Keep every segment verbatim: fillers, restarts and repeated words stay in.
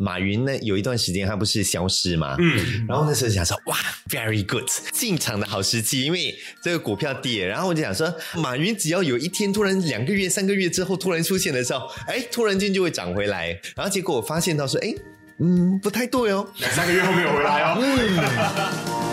马云呢有一段时间他不是消失嘛，嗯，然后那时候想说哇 very good 进场的好时机，因为这个股票跌，然后我就想说马云只要有一天突然两个月三个月之后突然出现的时候，哎，突然间就会涨回来，然后结果我发现到说哎嗯不太对哦， 两三个月后没有回来哦。嗯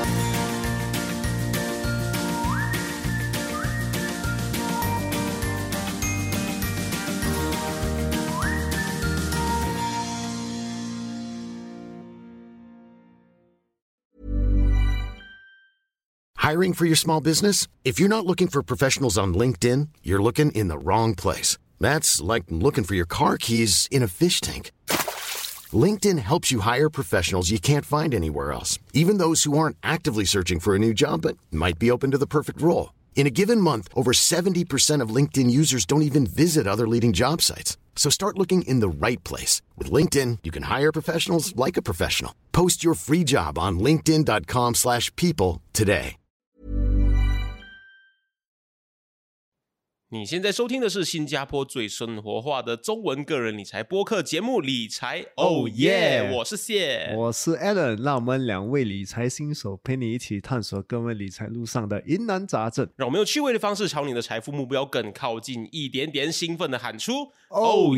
Hiring for your small business? If you're not looking for professionals on LinkedIn, you're looking in the wrong place. That's like looking for your car keys in a fish tank. LinkedIn helps you hire professionals you can't find anywhere else, even those who aren't actively searching for a new job but might be open to the perfect role. In a given month, over seventy percent of LinkedIn users don't even visit other leading job sites. So start looking in the right place. With LinkedIn, you can hire professionals like a professional. Post your free job on linkedin.com slash people today. 你现在收听的是新加坡最生活化的中文个人理财播客节目《理财 Oh Yeah》，我是谢， 我是 Alan， 让我们两位理财新手陪你一起探索各位理财路上的疑难杂症， 让我们用趣味的方式朝你的财富目标更靠近一点点，兴奋的喊出 Oh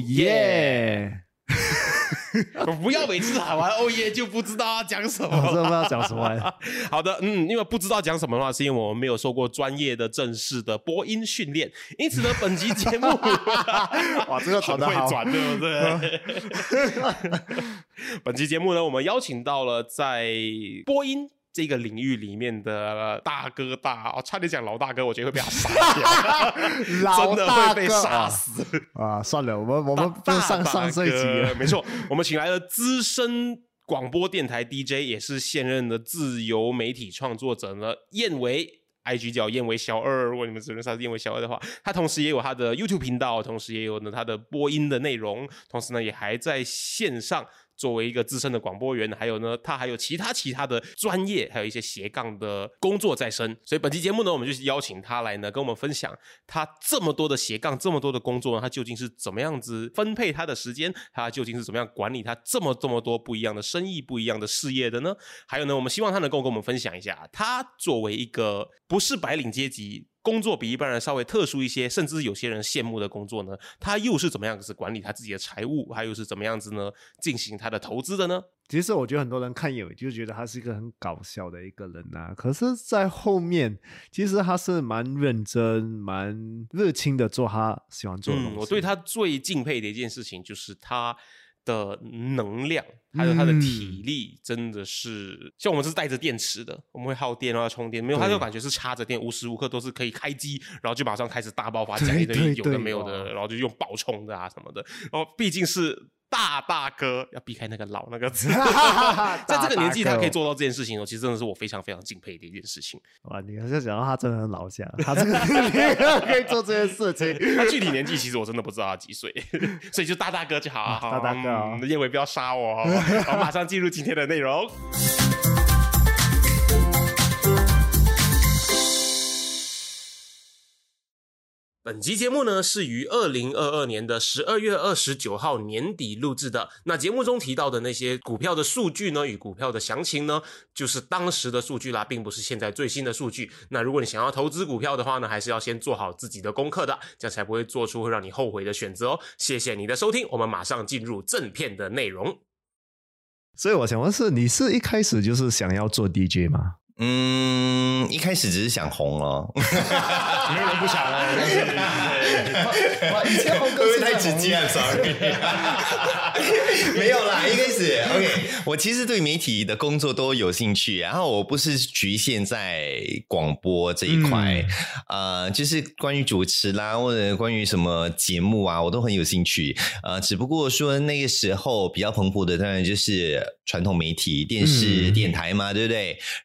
Yeah！ 不要每次喊完 Oh Yeah 就不知道要讲什么， 我真的不知道讲什么。 好的，嗯，因为不知道讲什么的话，是因为我们没有受过专业的正式的播音训练，因此呢，本集节目哇，这个转得好， 很会转，对不对？本期节目呢，我们邀请到了在播音这个领域里面的大哥大、哦、差点讲老大哥，我觉得会被他杀掉真的会被杀死啊, 啊！算了，我们我们不上上这一集了。 没错，我们请来了资深广播电台 D J， 也是现任的自由媒体创作者呢，燕维。I G 叫燕维小二，如果你们只认识他是燕维小二的话，他同时也有他的 YouTube 频道，同时也有呢他的播音的内容，同时呢也还在线上作为一个资深的广播员，还有呢他还有其他其他的专业，还有一些斜杠的工作在身。所以本期节目呢，我们就是邀请他来呢跟我们分享他这么多的斜杠，这么多的工作呢，他究竟是怎么样子分配他的时间，他究竟是怎么样管理他这么这么多不一样的生意，不一样的事业的呢？还有呢，我们希望他能够跟我们分享一下，他作为一个不是白领阶级，工作比一般人稍微特殊一些，甚至有些人羡慕的工作呢，他又是怎么样子管理他自己的财务，还有是怎么样子呢进行他的投资的呢？ 其实我觉得很多人看叶伟就觉得他是一个很搞笑的一个人啊，可是在后面其实他是蛮认真蛮热情的做他喜欢做的东西、 嗯、我对他最敬佩的一件事情就是他的能量还有他的体力真的是、嗯、像我们是带着电池的，我们会耗电然后充电，没有他就感觉是插着电，无时无刻都是可以开机，然后就马上开始大爆发，讲一堆有的没有的，然后就用爆冲的啊什么的，然后毕竟是大大哥，要避开那个老那个字在这个年纪他可以做到这件事情、哦、其实真的是我非常非常敬佩的一件事情。 哇，你是讲到他真的很老下，他这个年纪可以做这件事情他具体年纪其实我真的不知道他几岁所以就大大哥就好、啊、 大大哥、哦嗯、叶伟不要杀我好马上进入今天的内容本期节目呢是于二零二二年的十二月二十九号年底录制的。那节目中提到的那些股票的数据呢与股票的详情呢就是当时的数据啦，并不是现在最新的数据。那如果你想要投资股票的话呢，还是要先做好自己的功课的，这样才不会做出会让你后悔的选择哦。谢谢你的收听，我们马上进入正片的内容。 所以我想问是你是一开始就是想要做 D J 吗？ 嗯，一开始只是想红哦没有人不想哦哇，以前红歌是太直接了 sorry 没有啦，一开始 OK 我其实对媒体的工作都有兴趣，然后我不是局限在广播这一块、嗯、呃，就是关于主持啦或者关于什么节目啊我都很有兴趣，呃，只不过说那个时候比较蓬勃的当然就是传统媒体电视、嗯、电台嘛，对不对？然后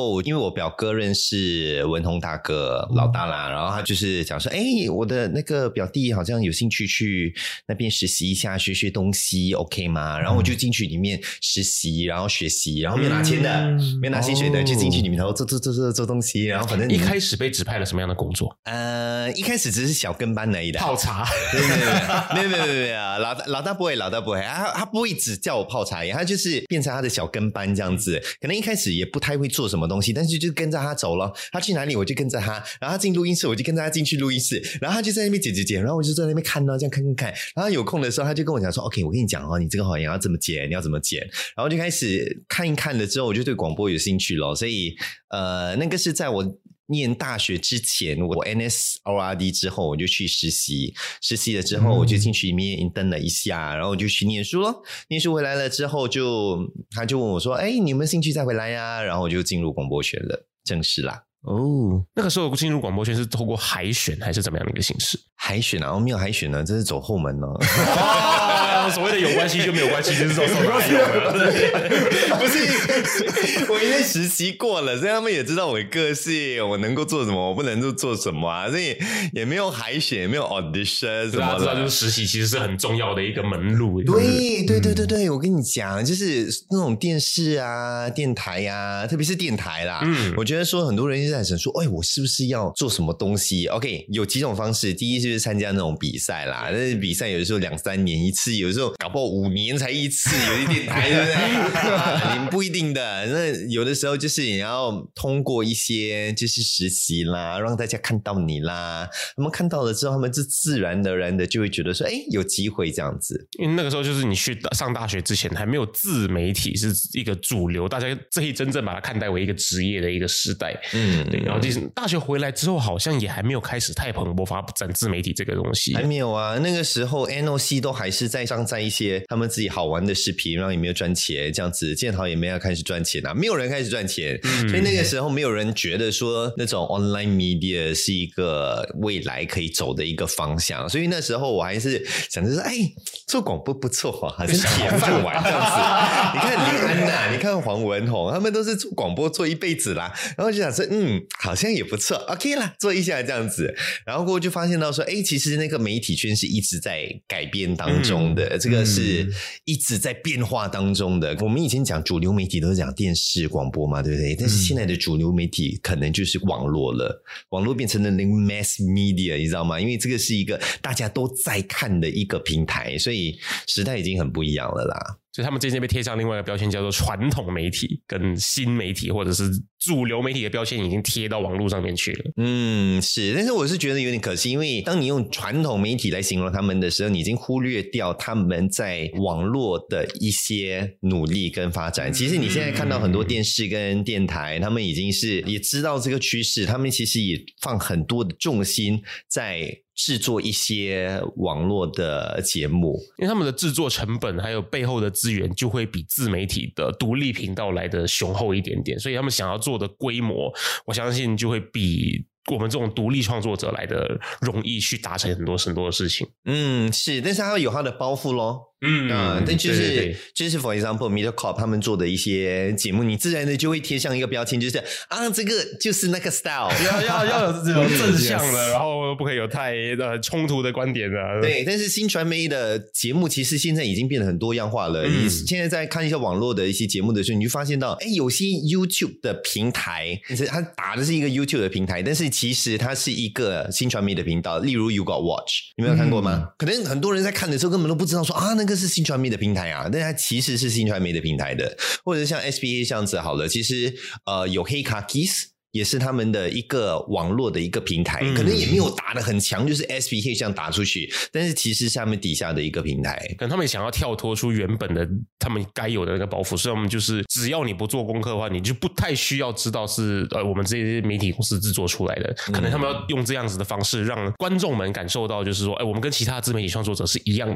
候，因为我表哥认识文宏大哥老大啦，然后他就是讲说，哎，我的那个表弟好像有兴趣去那边实习一下，学学东西 ，OK 吗？然后我就进去里面实习，然后学习，然后没有拿钱的，嗯、没有拿薪水的，哦、就进去里面然后做做做做做东西，然后反正一开始被指派了什么样的工作？ 呃，一开始只是小跟班而已的， 泡茶。 对对对，没有没有没有没有，老大老大不会，老大不会，他他不会只叫我泡茶，他就是变成他的小跟班这样子。可能一开始也不太会做什么东西，但是就跟着他走了。他去哪里我就跟着他，然后他进录音室我就跟着他进去录音室，然后他就在那边剪剪剪，然后我就在那边看到这样看看看。然后有空的时候他就跟我讲说 ，OK， 我跟你讲哦，你这个好像要怎么剪，你要怎么剪。然后就开始看一看了之后，我就对广播有兴趣了。所以呃，那个是在我念大学之前，我 N S O R D 之后我就去实习，实习了之后我就进去里面 intern 了一下，然后我就去念书咯。念书回来了之后就他就问我说，哎，你有没有兴趣再回来呀？然后我就进入广播圈了，正式啦。 哦，那个时候进入广播圈是透过海选还是怎么样的一个形式？ 海选啊，我没有海选呢，这是走后门呢、 哦。所谓的有关系就没有关系，就是走后门。 不是，我因为实习过了，所以他们也知道我的个性，我能够做什么，我不能够做什么啊，所以也没有海选，也没有 audition 什么的。 知道，就是实习其实是很重要的一个门路。 对对对对对，我跟你讲，就是那种电视啊、电台啊，特别是电台啦，嗯，我觉得说很多人在想说，哎，我是不是要做什么东西 ？OK， 有几种方式。第一就是参加那种比赛啦，但是比赛有的时候两三年一次，有的时候搞不好五年才一次，有些电台对不对？啊、你不一定的。那有的时候就是你要通过一些就是实习啦，让大家看到你啦。他们看到了之后，他们就自然而然的就会觉得说，哎，有机会这样子。 因为那个时候就是你去上大学之前，还没有自媒体是一个主流，大家可以真正把它看待为一个职业的一个时代。嗯。对，然后就是大学回来之后，好像也还没有开始太蓬勃发展自媒体这个东西， 还没有啊。那个时候 N O C 都还是在上载一些他们自己好玩的视频，然后也没有赚钱，这样子建豪也没有开始赚钱啊，没有人开始赚钱、嗯，所以那个时候没有人觉得说那种 online media 是一个未来可以走的一个方向，所以那时候我还是想着说，哎，做广播不错哈，好像铁饭碗这样子。你看林安娜，你看黄文宏，他们都是做广播做一辈子啦，然后就想说，嗯，好像也不错 ，OK 啦，做一下这样子，然后过后就发现到说，哎，其实那个媒体圈是一直在改变当中的，嗯、这个是一直在变化当中的。我们以前讲主流媒体都是讲电视广播嘛，对不对？但是现在的主流媒体可能就是网络了，网络变成了那个 mass media， 你知道吗？因为这个是一个大家都在看的一个平台，所以时代已经很不一样了啦。 所以他们渐渐被贴上另外一个标签，叫做传统媒体跟新媒体或者是主流媒体的标签已经贴到网络上面去了。 嗯，是，但是我是觉得有点可惜，因为当你用传统媒体来形容他们的时候，你已经忽略掉他们在网络的一些努力跟发展。其实你现在看到很多电视跟电台，他们已经是也知道这个趋势，他们其实也放很多的重心在制作一些网络的节目， 因为他们的制作成本还有背后的资源就会比自媒体的独立频道来的雄厚一点点，所以他们想要做的规模，我相信就会比我们这种独立创作者来的容易去达成很多很多的事情。 嗯，是，但是他有他的包袱咯。嗯啊，但就是对对对就是 for example MediaCorp 他们做的一些节目，你自然的就会贴上一个标签，就是啊，这个就是那个 style， 要要要有这种正向的，然后不可以有太呃冲突的观点啊。 对，但是新传媒的节目其实现在已经变得很多样化了。嗯、你现在在看一些网络的一些节目的时候，你就发现到，哎，有些 YouTube 的平台，它打的是一个 YouTube 的平台，但是其实它是一个新传媒的频道，例如 You Got Watch， 你没有看过吗？嗯、可能很多人在看的时候根本都不知道说啊，那个是新传媒的平台啊，但它其实是新传媒的平台的，或者像 S B A 这样子好了，其实呃有黑卡 Kiss。也是他们的一个网络的一个平台，嗯、可能也没有打得很强，就是 S B K 这样打出去，但是其实是他们底下的一个平台， 可能他们想要跳脱出原本的他们该有的那个包袱，所以我们就是只要你不做功课的话，你就不太需要知道是呃我们这些媒体公司制作出来的，可能他们要用这样子的方式让观众们感受到，就是说，哎，我们跟其他自媒体创作者是一样的。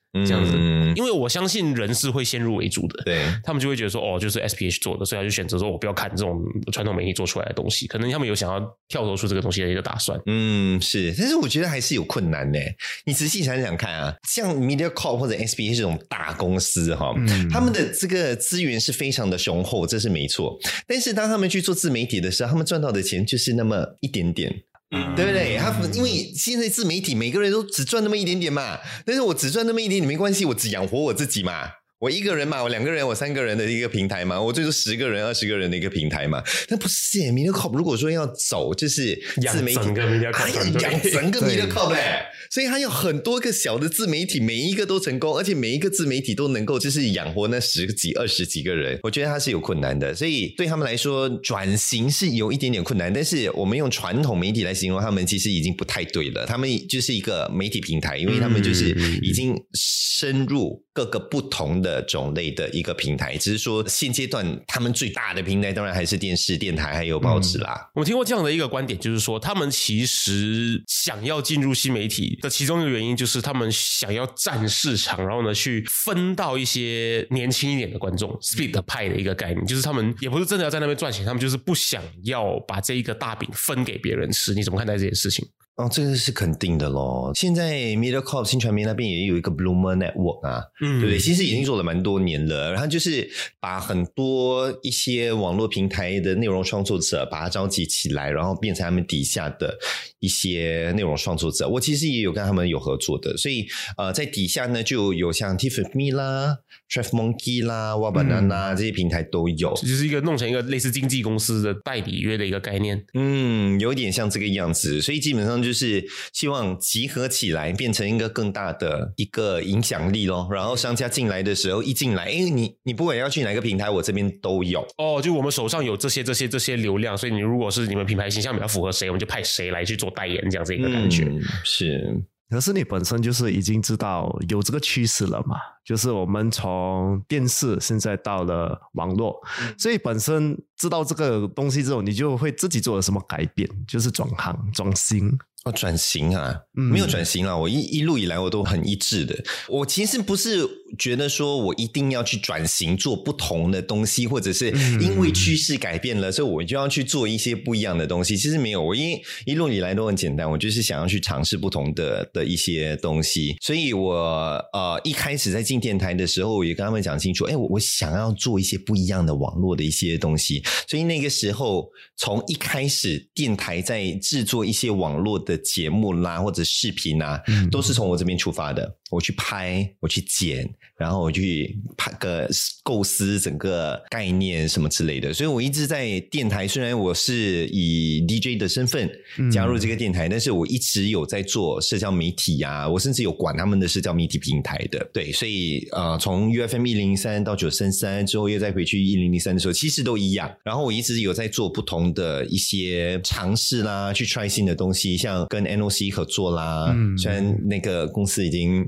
这样子， 嗯因为我相信人是会先入为主的， 对， 他们就会觉得说，哦，就是 S P H 做的，所以他就选择说，我不要看这种传统媒体做出来的东西，可能他们有想要跳脱出这个东西的一个打算。 嗯，是，但是我觉得还是有困难的。你仔细想想看啊，像 MediaCorp 或者 S B H 这种大公司哈，嗯、他们的这个资源是非常的雄厚，这是没错。但是当他们去做自媒体的时候，他们赚到的钱就是那么一点点。嗯，对不对？他因为现在自媒体每个人都只赚那么一点点嘛，但是我只赚那么一点点没关系，我只养活我自己嘛。我一个人嘛，我两个人，我三个人的一个平台嘛，我最多十个人、二十个人的一个平台嘛。但不是耶 ，MediaCorp 如果说要走，就是自媒体，还要养整个 MediaCorp 嘞，所以他有很多个小的自媒体，每一个都成功，而且每一个自媒体都能够就是养活那十几、二十几个人。我觉得他是有困难的，所以对他们来说转型是有一点点困难。但是我们用传统媒体来形容他们，其实已经不太对了。他们就是一个媒体平台，因为他们就是已经深入各个不同的种类的一个平台，只是说现阶段他们最大的平台当然还是电视、电台还有报纸啦。 嗯、我听过这样的一个观点，就是说他们其实想要进入新媒体的其中一个原因，就是他们想要占市场，然后呢去分到一些年轻一点的观众 ，split 派的一个概念，就是他们也不是真的要在那边赚钱，他们就是不想要把这一个大饼分给别人吃。你怎么看待这件事情？ 哦，这个是肯定的咯。现在 MediaCorp 新传媒那边也有一个 Bloomer Network 啊，嗯，对不对？其实已经做了蛮多年了，然后就是把很多一些网络平台的内容创作者把它召集起来，然后变成他们底下的一些内容创作者。我其实也有跟他们有合作的，所以呃，在底下呢就有像 Tiff with Me 啦、Tref Monkey 啦、Wabanana、嗯、这些平台都有， 就是一个弄成一个类似经纪公司的代理约的一个概念。 嗯，有点像这个样子，所以基本上就就是希望集合起来变成一个更大的一个影响力咯，然后商家进来的时候一进来，诶你你不管要去哪个平台我这边都有哦，就我们手上有这些这些这些流量，所以你如果是你们品牌形象比较符合谁，我们就派谁来去做代言，这样子一个感觉、 嗯、是。 可是你本身就是已经知道有这个趋势了嘛，就是我们从电视现在到了网络、嗯、所以本身知道这个东西之后，你就会自己做了什么改变，就是转行转型。 哦，转型啊、嗯、没有转型啦，我一一路以来我都很一致的。我其实不是觉得说我一定要去转型做不同的东西，或者是因为趋势改变了、嗯、所以我就要去做一些不一样的东西。其实没有，我一一路以来都很简单，我就是想要去尝试不同的的一些东西。所以我呃一开始在进电台的时候，我也跟他们讲清楚，哎，我我想要做一些不一样的网络的一些东西。所以那个时候从一开始电台在制作一些网络的节目啦或者视频啊、嗯、都是从我这边出发的。我去拍，我去剪，然后我去拍个构思整个概念什么之类的。所以我一直在电台，虽然我是以 D J 的身份加入这个电台、嗯、但是我一直有在做社交媒体啊，我甚至有管他们的社交媒体平台的。对，所以呃，从 U F M 一零零三到九三三之后又再回去一零零三的时候，其实都一样。然后我一直有在做不同的一些尝试啦，去 try 新的东西，像跟 N O C 合作啦、嗯、虽然那个公司已经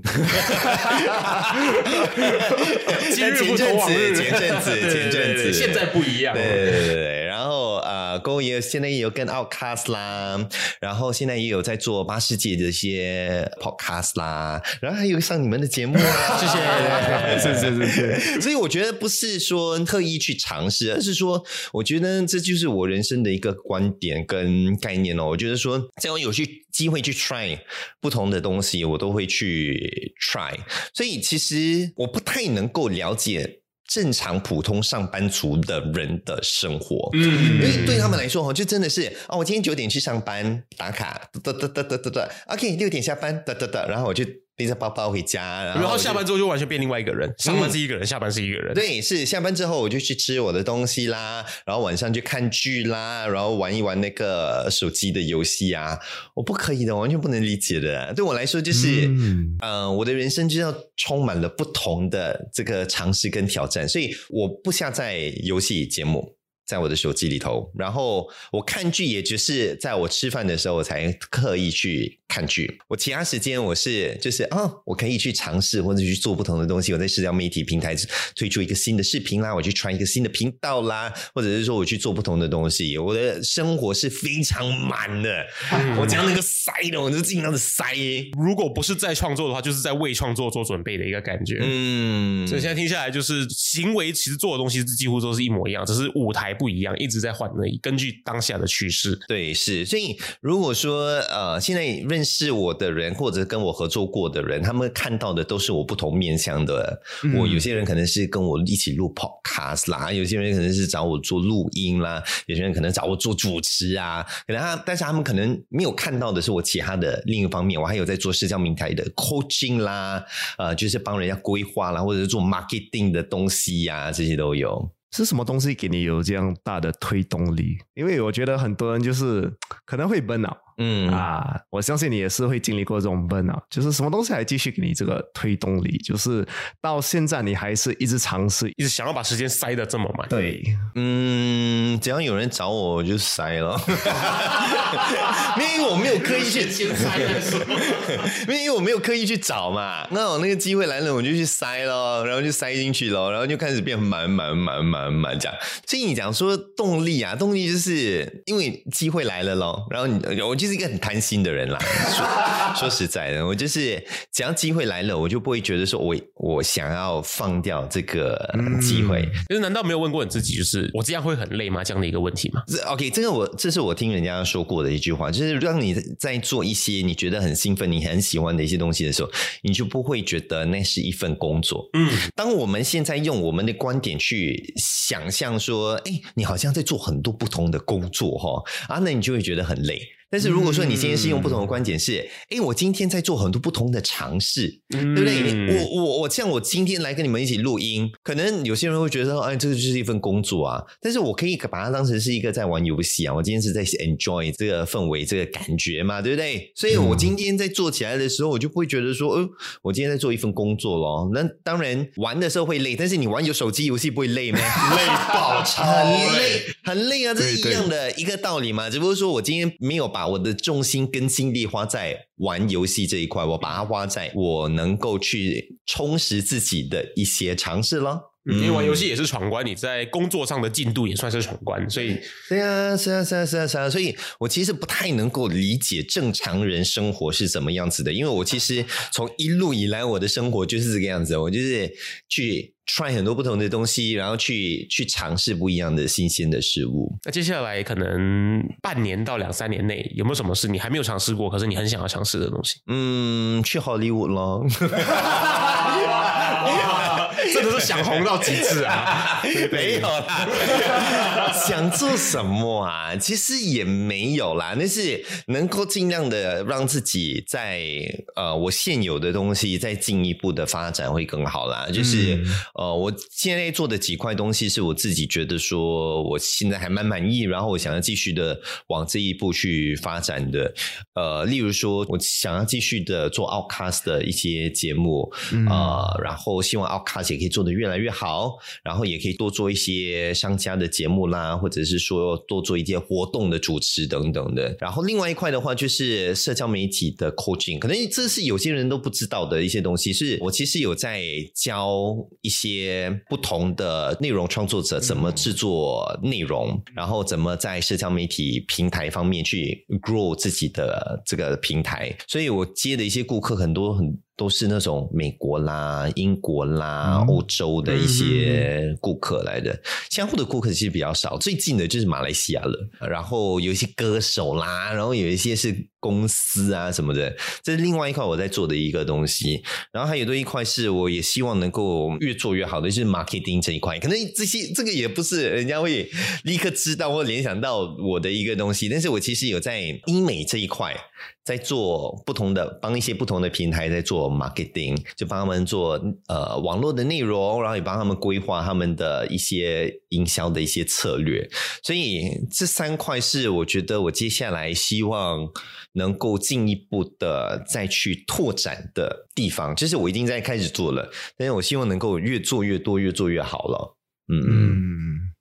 今日不同往日， 前阵子前阵子现在不一样。 对对对对，然后呃Go也现在也有跟 Outcast 啦，然后现在也有在做八世界的一些 podcast 啦，然后还有上你们的节目啊， 谢谢，是是是是。 所以我觉得不是说特意去尝试，而是说我觉得这就是我人生的一个观点跟概念哦。我觉得说只要有去机会去 try 不同的东西，我都会去 try。所以其实我不太能够了解正常普通上班族的人的生活，嗯，因为对他们来说就真的是哦，我今天九点去上班打卡，哒哒哒哒哒哒 ，OK， 六点下班，哒哒哒，然后我就背着包包回家，然后, 然后下班之后就完全变另外一个人，上班是一个人、嗯、下班是一个人。 对，是下班之后我就去吃我的东西啦，然后晚上去看剧啦，然后玩一玩那个手机的游戏啊。我不可以的，我完全不能理解的。对我来说就是嗯、呃，我的人生就要充满了不同的这个尝试跟挑战，所以我不下载游戏节目， 在我的手机里头，然后我看剧也就是在我吃饭的时候我才刻意去看剧，我其他时间我是就是啊、哦，我可以去尝试或者去做不同的东西，我在社交媒体平台推出一个新的视频啦，我去传一个新的频道啦，或者是说我去做不同的东西，我的生活是非常满的、嗯、我将那个塞的我就尽量的塞， 如果不是在创作的话就是在为创作做准备的一个感觉。嗯，所以现在听下来就是行为其实做的东西几乎都是一模一样，只是舞台不一样，一直在换而已，根据当下的趋势。 对，是，所以如果说呃，现在认识我的人或者跟我合作过的人，他们看到的都是我不同面向的、嗯、我有些人可能是跟我一起录 podcast 啦，有些人可能是找我做录音啦，有些人可能找我做主持啊，可能他但是他们可能没有看到的是我其他的另一方面，我还有在做社交平台的 coaching 啦，呃，就是帮人家规划啦，或者是做 marketing 的东西啊，这些都有。 是什么东西给你有这样大的推动力？因为我觉得很多人就是可能会 burn out， 嗯啊，我相信你也是会经历过这种 burn out， 就是什么东西还继续给你这个推动力，就是到现在你还是一直尝试， 一直想要把时间塞得这么满。 对， 嗯，只要有人找我我就塞了因为我没有刻意去先塞的时候因为我没有刻意去找嘛，那我那个机会来了我就去塞咯，然后就塞进去咯，然后就开始变满满满满满这样。所以你讲说动力啊，动力就是因为机会来了咯，然后你我就是一个很贪心的人啦说, 说实在的，我就是只要机会来了我就不会觉得说我我想要放掉这个机会、嗯、 就是难道没有问过你自己就是我这样会很累吗这样的一个问题吗？ OK， 这个我这是我听人家说过的一句话，就是让你在做一些你觉得很兴奋你很喜欢的一些东西的时候，你就不会觉得那是一份工作。嗯，当我们现在用我们的观点去想象说诶你好像在做很多不同的工作齁啊，那你就会觉得很累。但是如果说你今天是用不同的观点是诶、嗯、我今天在做很多不同的尝试、嗯、对不对？我我我像我今天来跟你们一起录音，可能有些人会觉得哎，这个就是一份工作啊，但是我可以把它当成是一个在玩游戏啊，我今天是在 enjoy 这个氛围这个感觉嘛，对不对？所以我今天在做起来的时候我就不会觉得说呃，我今天在做一份工作咯。那当然玩的时候会累，但是你玩有手机游戏不会累吗？ 累爆超很累很累啊，这是一样的一个道理嘛，只不过说我今天没有把我的重心跟精力花在玩游戏这一块，我把它花在我能够去充实自己的一些尝试咯。 嗯、因为玩游戏也是闯关，你在工作上的进度也算是闯关，所以对啊，是啊，是啊，是啊，是啊，所以我其实不太能够理解正常人生活是怎么样子的，因为我其实从一路以来我的生活就是这个样子，我就是去try 很多不同的东西，然后去去尝试不一样的新鲜的事物。 那接下来可能半年到两三年内有没有什么事你还没有尝试过可是你很想要尝试的东西？ 嗯，去好莱坞咯真的是想红到极致啊没有啦想做什么啊其实也没有啦，但是能够尽量的让自己在呃我现有的东西再进一步的发展会更好啦，就是、嗯、呃我现在做的几块东西是我自己觉得说我现在还蛮满意，然后我想要继续的往这一步去发展的，呃例如说我想要继续的做 Outcast 的一些节目、嗯、呃然后希望 Outcast 也可以做得越来越好，然后也可以多做一些商家的节目啦，或者是说多做一些活动的主持等等的。然后另外一块的话就是社交媒体的 coaching， 可能这是有些人都不知道的一些东西，是我其实有在教一些不同的内容创作者怎么制作内容、嗯、然后怎么在社交媒体平台方面去 grow 自己的这个平台，所以我接的一些顾客很多很都是那种美国啦、英国啦、嗯、欧洲的一些顾客来的，相互的顾客其实比较少，最近的就是马来西亚了，然后有一些歌手啦，然后有一些是公司啊什么的，这是另外一块我在做的一个东西。然后还有多一块是我也希望能够越做越好的，就是 marketing 这一块，可能这些这个也不是人家会立刻知道或联想到我的一个东西，但是我其实有在医美这一块在做不同的，帮一些不同的平台在做 marketing， 就帮他们做呃网络的内容，然后也帮他们规划他们的一些营销的一些策略。所以这三块是我觉得我接下来希望能够进一步的再去拓展的地方，就是我已经在开始做了，但是我希望能够越做越多越做越好了。嗯嗯，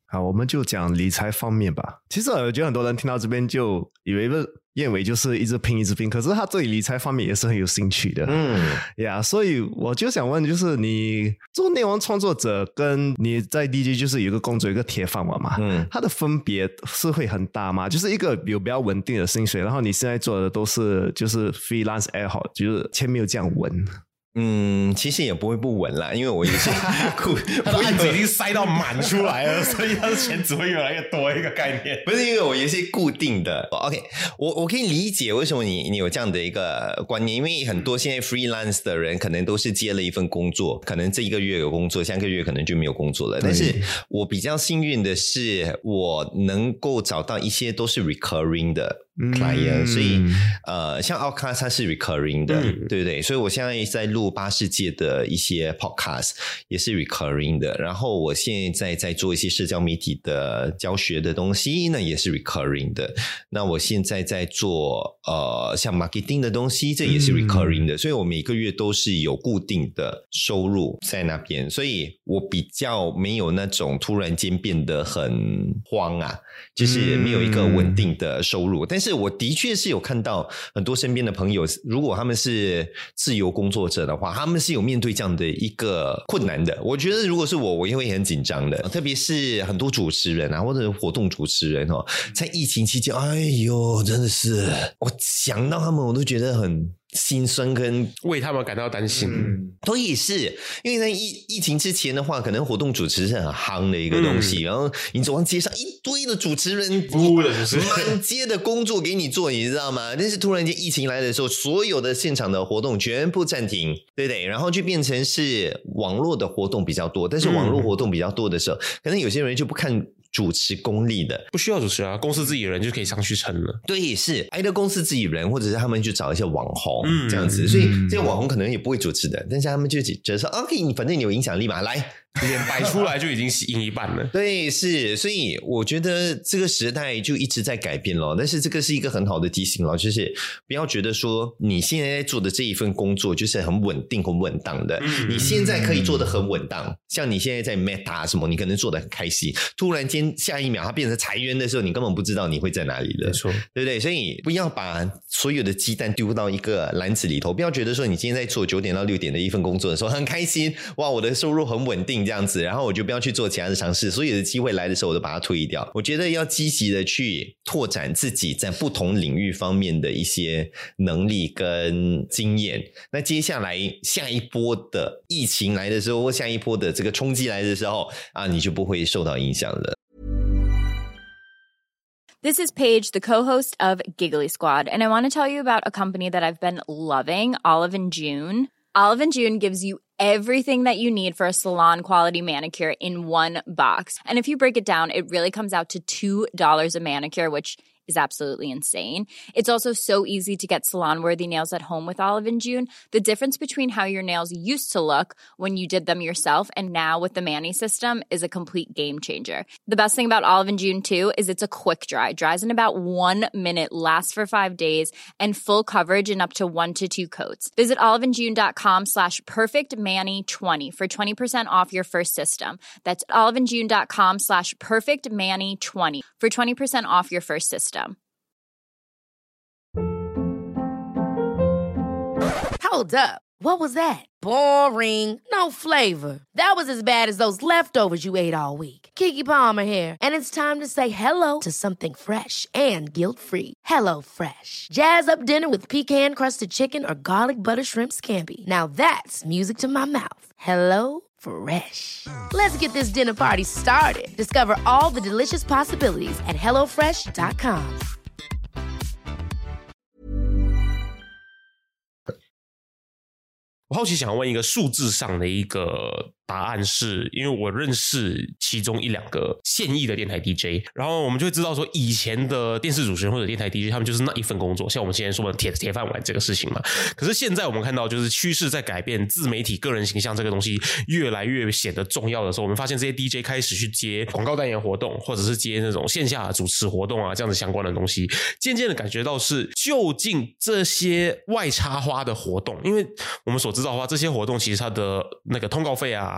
好，我们就讲理财方面吧。其实我觉得很多人听到这边就以为燕尾就是一直拼一直拼，可是他对理财方面也是很有兴趣的。嗯，呀、yeah, 所以我就想问，就是你做内容创作者跟你在 D J 就是有一个工作有一个铁饭碗嘛，嗯，它的分别是会很大吗？就是一个有比较稳定的薪水，然后你现在做的都是就是 freelance ad， 就是前面有这样稳。 嗯，其实也不会不稳啦，因为我也是固， 他的案子已经塞到满出来了，所以他的钱只会越来越多一个概念。 不是因为我也是固定的 ，OK， 我我可以理解为什么你你有这样的一个观念，因为很多现在 freelance 的人可能都是接了一份工作，可能这一个月有工作，下个月可能就没有工作了。但是我比较幸运的是，我能够找到一些都是 recurring 的。client，、嗯、所以呃，像 Outcast 它是 recurring 的、嗯，对不对？所以我现在在录巴士界的一些 podcast 也是 recurring 的，然后我现在在做一些社交媒体的教学的东西，那也是 recurring 的。那我现在在做呃像 marketing 的东西，这也是 recurring 的、嗯，所以我每个月都是有固定的收入在那边，所以我比较没有那种突然间变得很慌啊，就是没有一个稳定的收入，但是我的确是有看到很多身边的朋友，如果他们是自由工作者的话，他们是有面对这样的一个困难的。我觉得如果是我，我也会很紧张的，特别是很多主持人啊，或者活动主持人哦，在疫情期间，哎呦，真的是我想到他们，我都觉得很心酸跟为他们感到担心。 嗯，都也是因为在疫疫情之前的话，可能活动主持是很夯的一个东西、嗯、然后你走上街上一堆的主持人， 服的就是满街的工作给你做，你知道吗？但是突然间疫情来的时候，所有的现场的活动全部暂停，对不对？然后就变成是网络的活动比较多，但是网络活动比较多的时候、嗯、可能有些人就不看主持功力的， 不需要主持啊，公司自己人就可以上去撑了。 对，是挨着公司自己人，或者是他们就找一些网红、嗯、这样子，所以这些网红可能也不会主持的，但是他们就觉得说 OK， 你反正你有影响力嘛，来脸摆出来就已经赢一半了。 对，是，所以我觉得这个时代就一直在改变咯，但是这个是一个很好的提醒咯，就是不要觉得说你现在在做的这一份工作就是很稳定很稳当的、嗯、你现在可以做得很稳当，像你现在在 Meta 什么，你可能做得很开心，突然间下一秒它变成裁员的时候，你根本不知道你会在哪里的， 没错， 对不对？所以不要把所有的鸡蛋丢到一个篮子里头，不要觉得说你今天在做九点到六点的一份工作的时候很开心，哇，我的收入很稳定这样子，然后我就不要去做其他的尝试，所有的机会来的时候我都把它推掉。我觉得要积极的去拓展自己在不同领域方面的一些能力跟经验，那接下来下一波的疫情来的时候，或下一波的这个冲击来的时候啊，你就不会受到影响了。 This is Paige, the co-host of Giggly Squad, and I want to tell you about a company that I've been loving, Olive and June. Olive and June gives you everything that you need for a salon-quality manicure in one box. And if you break it down, it really comes out to two dollars a manicure, which is absolutely insane. It's also so easy to get salon-worthy nails at home with Olive and June. The difference between how your nails used to look when you did them yourself and now with the Mani system is a complete game changer. The best thing about Olive and June, too, is it's a quick dry. Dries in about one minute, lasts for five days, and full coverage in up to one to two coats. Visit oliveandjune.com slash perfectmani20 for twenty percent off your first system. That's oliveandjune.com slash perfectmani20 for twenty percent off your first system. Hold up. What was that? Boring. No flavor. That was as bad as those leftovers you ate all week. Keke Palmer here, and it's time to say hello to something fresh and guilt-free. Hello Fresh. Jazz up dinner with pecan-crusted chicken or garlic butter shrimp scampi. Now that's music to my mouth. Hello Fresh. Let's get this dinner party started. Discover all the delicious possibilities at hello fresh dot com. 我好奇想问一个数字上的一个答案是，因为我认识其中一两个现役的电台 D J， 然后我们就会知道说以前的电视主持人或者电台 D J 他们就是那一份工作，像我们现在说的铁铁饭碗这个事情嘛。可是现在我们看到就是趋势在改变，自媒体个人形象这个东西越来越显得重要的时候，我们发现这些 D J 开始去接广告代言活动，或者是接那种线下的主持活动啊，这样子相关的东西，渐渐的感觉到是究竟这些外插花的活动，因为我们所知道的话，这些活动其实它的那个通告费啊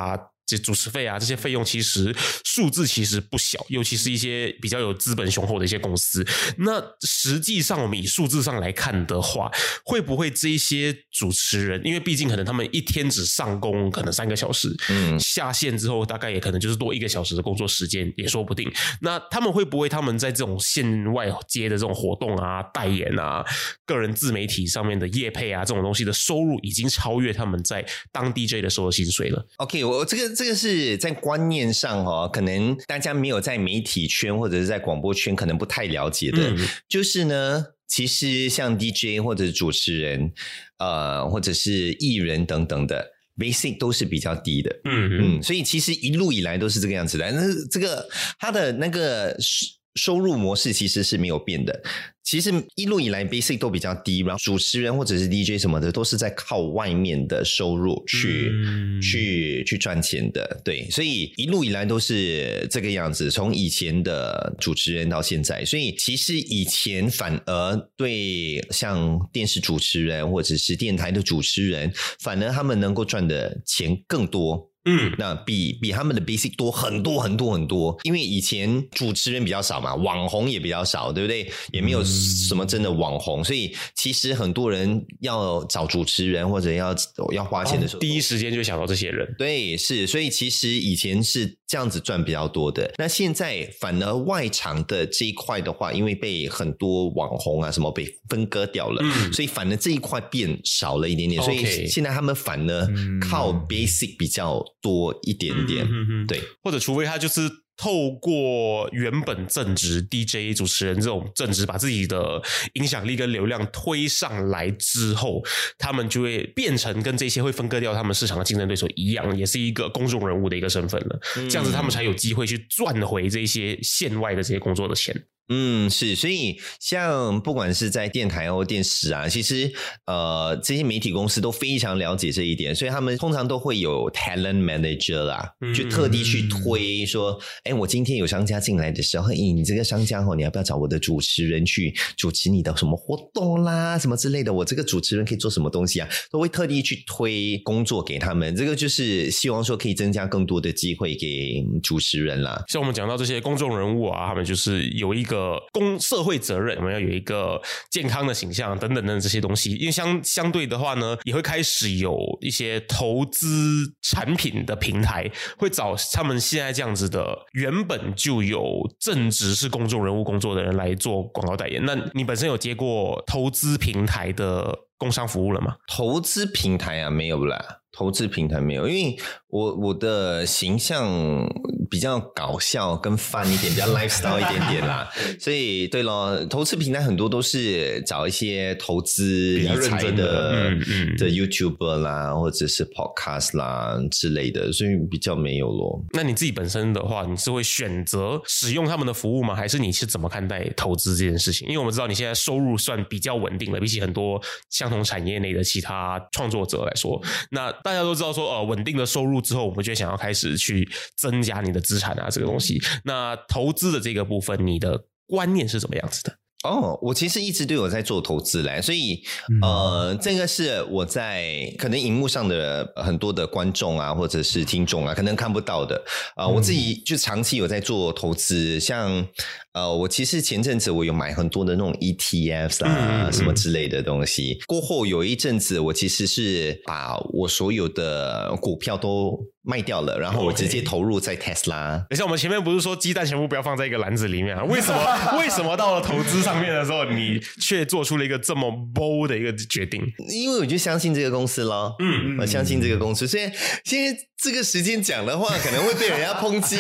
这主持费啊这些费用，其实数字其实不小，尤其是一些比较有资本雄厚的一些公司。那实际上我们以数字上来看的话，会不会这一些主持人，因为毕竟可能他们一天只上工可能三个小时，嗯，下线之后大概也可能就是多一个小时的工作时间也说不定。那他们会不会他们在这种线外接的这种活动啊、代言啊、个人自媒体上面的业配啊这种东西的收入已经超越他们在当 D J 的时候的薪水了？ OK， 我这个这个是在观念上哦，可能大家没有在媒体圈或者是在广播圈可能不太了解的，嗯，就是呢，其实像 D J 或者是主持人，呃，或者是艺人等等的 basic 都是比较低的，嗯嗯，所以其实一路以来都是这个样子的。但是这个他的那个收入模式其实是没有变的。其实一路以来 basic 都比较低，然后主持人或者是 D J 什么的都是在靠外面的收入去、嗯、去去赚钱的，对，所以一路以来都是这个样子，从以前的主持人到现在。所以其实以前反而对像电视主持人或者是电台的主持人，反而他们能够赚的钱更多，嗯，那比比他们的 basic 多很多很多很多，因为以前主持人比较少嘛，网红也比较少，对不对？也没有什么真的网红，所以其实很多人要找主持人或者要要花钱的时候， 哦，第一时间就想到这些人。 对，是，所以其实以前是这样子赚比较多的。那现在反而外场的这一块的话，因为被很多网红啊什么被分割掉了，嗯，所以反而这一块变少了一点点， okay， 所以现在他们反而靠 basic 比较多一点点，嗯，对， 或者除非他就是透过原本正职 D J 主持人这种正职，把自己的影响力跟流量推上来之后，他们就会变成跟这些会分割掉他们市场的竞争对手一样，也是一个公众人物的一个身份了，嗯，这样子他们才有机会去赚回这些线外的这些工作的钱。 嗯，是，所以像不管是在电台或电视啊，其实呃这些媒体公司都非常了解这一点，所以他们通常都会有 talent manager 啦，嗯，就特地去推说，哎，我今天有商家进来的时候，哎，你这个商家哦，你要不要找我的主持人去主持你的什么活动啦，什么之类的，我这个主持人可以做什么东西啊，都会特地去推工作给他们，这个就是希望说可以增加更多的机会给主持人啦。 像我们讲到这些公众人物啊，他们就是有一个公社会责任，我们要有一个健康的形象等等等这些东西，因为相相对的话呢，也会开始有一些投资产品的平台会找他们现在这样子的原本就有正职是公众人物工作的人来做广告代言。那你本身有接过投资平台的工商服务了吗？ 投资平台啊，没有啦，投资平台没有，因为我我的形象比较搞笑跟 fun 一点，比较 lifestyle 一点点啦，所以对咯，投资平台很多都是找一些投资理财的的, 嗯嗯的 YouTuber 啦，或者是 Podcast 啦之类的，所以比较没有咯。 那你自己本身的话，你是会选择使用他们的服务吗？还是你是怎么看待投资这件事情？因为我们知道你现在收入算比较稳定了，比起很多相同产业内的其他创作者来说，那大家都知道说，呃，稳定的收入之后，我们就想要开始去增加你的资产啊，这个东西。那投资的这个部分，你的观念是怎么样子的？ 哦，我其实一直都有在做投资嘞，所以呃，这个是我在可能荧幕上的很多的观众啊，或者是听众啊，可能看不到的啊、呃，我自己就长期有在做投资，像呃，我其实前阵子我有买很多的那种 E T Fs 啊，嗯、什么之类的东西。过后有一阵子，我其实是把我所有的股票都卖掉了，然后我直接投入在 Tesla。 等一下，我们前面不是说鸡蛋全部不要放在一个篮子里面啊？为什么？为什么到了投资上面的时候，你却做出了一个这么 bold 的一个决定？ 因为我就相信这个公司咯，嗯，我相信这个公司。所以现在这个时间讲的话，可能会被人家抨击。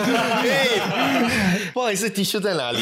不好意思 ，T 恤在哪里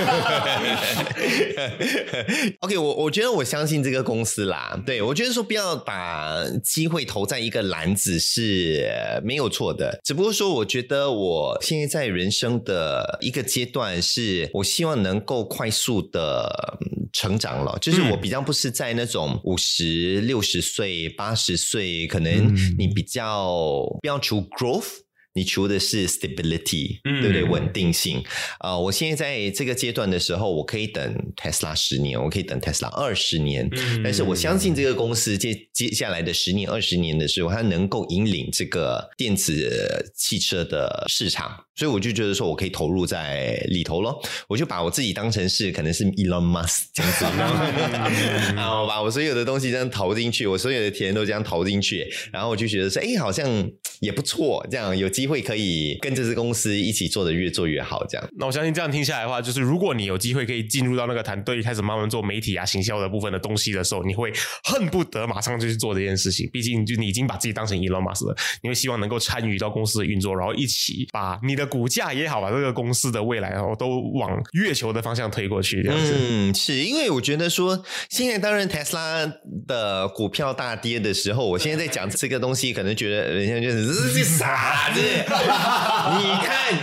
？OK， 我我觉得我相信这个公司啦。对，我觉得说不要把机会投在一个篮子是没有错的，只不过说我觉得我现在在人生的一个阶段，是我希望能够快速的成长了，就是我比较不是在那种五十、六十岁、八十岁，可能你比较不要求 growth。 你求的是 stability，、 嗯、 对不对？稳定性。呃，我现在在这个阶段的时候，我可以等 Tesla 十年，我可以等 Tesla 二十年、嗯，但是我相信这个公司接接下来的十年、二十年的时候，它能够引领这个电子汽车的市场，所以我就觉得说我可以投入在里头咯。我就把我自己当成是可能是 Elon Musk 这样子，然后把我所有的东西这样投进去，我所有的钱都这样投进去，然后我就觉得说，哎，好像也不错，这样有机会可以跟这支公司一起做的越做越好，这样。 那我相信这样听下来的话，就是如果你有机会可以进入到那个团队，开始慢慢做媒体啊、行销的部分的东西的时候，你会恨不得马上就去做这件事情。毕竟就你已经把自己当成 Elon Musk 了，你会希望能够参与到公司的运作，然后一起把你的股价也好，把这个公司的未来然后都往月球的方向推过去，这样子。 嗯，是因为我觉得说，现在当然 Tesla 的股票大跌的时候，我现在在讲这个东西，可能觉得人家就是这傻子，你看